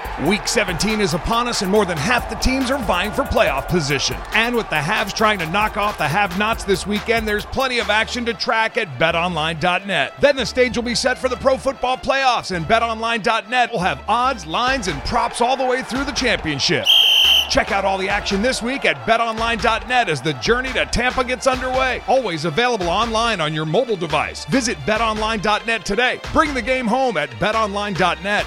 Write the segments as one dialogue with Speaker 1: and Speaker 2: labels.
Speaker 1: Week 17 is upon us and more than half the teams are vying for playoff position. And with the haves trying to knock off the have-nots this weekend, there's plenty of action to track at betonline.net. Then the stage will be set for the pro football playoffs, and betonline.net will have odds, lines, and props all the way through the championship. Check out all the action this week at betonline.net as the journey to Tampa gets underway. Always available online on your mobile device. Visit betonline.net today. Bring the game home at betonline.net.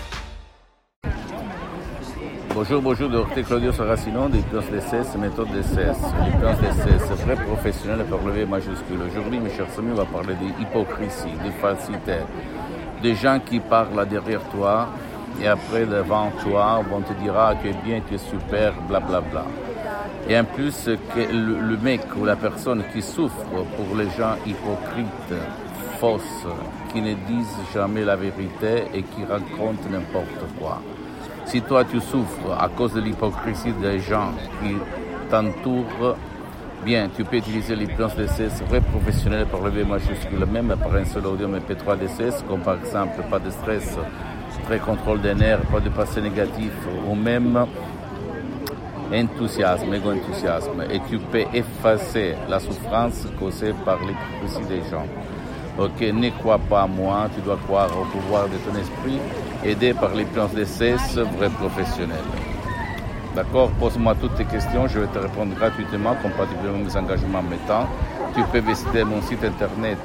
Speaker 2: Bonjour, Dr Claudio Saracino des Hypnose DCS, méthode DCS. L'hypnose DCS, vrai professionnel par le V majuscule. Aujourd'hui, mes chers amis, on va parler d'hypocrisie, de falsité. Des gens qui parlent derrière toi et après devant toi, on te dira tu es bien, tu es super, blablabla. Bla, bla. Et en plus, que le mec ou la personne qui souffre pour les gens hypocrites, fausses, qui ne disent jamais la vérité et qui racontent n'importe quoi. Si toi tu souffres à cause de l'hypocrisie des gens qui t'entourent, bien, tu peux utiliser l'hypnose DCS vrai professionnel par le V majuscule, même par un seul audio MP3 DCS, comme par exemple pas de stress, très contrôle des nerfs, pas de passé négatif, ou même enthousiasme, égo-enthousiasme. Et tu peux effacer la souffrance causée par l'hypocrisie des gens. Ok, ne crois pas à moi, tu dois croire au pouvoir de ton esprit, aidé par l'hypnose DCS, vrai professionnel. D'accord, pose-moi toutes tes questions, je vais te répondre gratuitement, compatiblement à mes engagements en mettant. Tu peux visiter mon site internet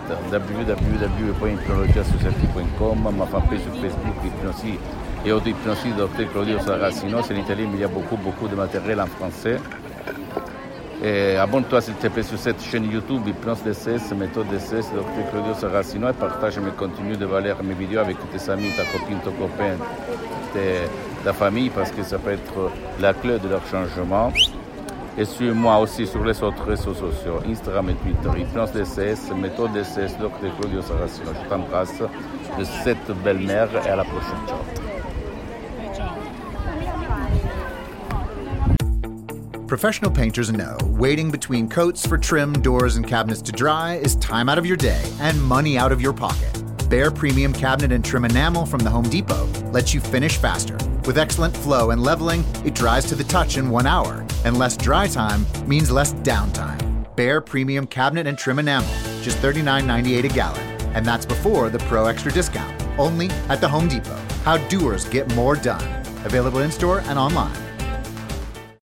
Speaker 2: www.hypnologiassociative.com, ma fanpage sur Facebook, Hypnosie et auto-hypnosie Dr Claudio Saracino. C'est en italien, mais il y a beaucoup de matériel en français. Et abonne-toi s'il te plaît sur cette chaîne YouTube Hypnose DCS, méthode DCS, Dr Claudio Saracino, et partage mes contenus de valeur, mes vidéos avec tes amis, ta copine, ton copain, ta famille, parce que ça peut être la clé de leur changement. Et suis-moi aussi sur les autres réseaux sociaux, Instagram et Twitter, Hypnose DCS, méthode DCS, Dr Claudio Saracino. Je t'embrasse de cette belle mère et à la prochaine. Ciao.
Speaker 3: Professional painters know waiting between coats for trim, doors, and cabinets to dry is time out of your day and money out of your pocket. Behr Premium Cabinet and Trim Enamel from the Home Depot lets you finish faster. With excellent flow and leveling, it dries to the touch in 1 hour, and less dry time means less downtime. Behr Premium Cabinet and Trim Enamel, just $39.98 a gallon, and that's before the Pro Extra discount, only at the Home Depot. How doers get more done. Available in-store and online.